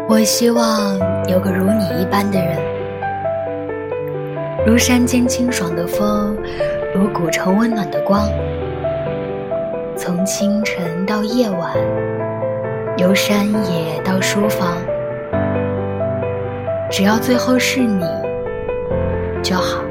我希望有个如你一般的人，如山间清爽的风，如古城温暖的光，从清晨到夜晚，由山野到书房，只要最后是你就好。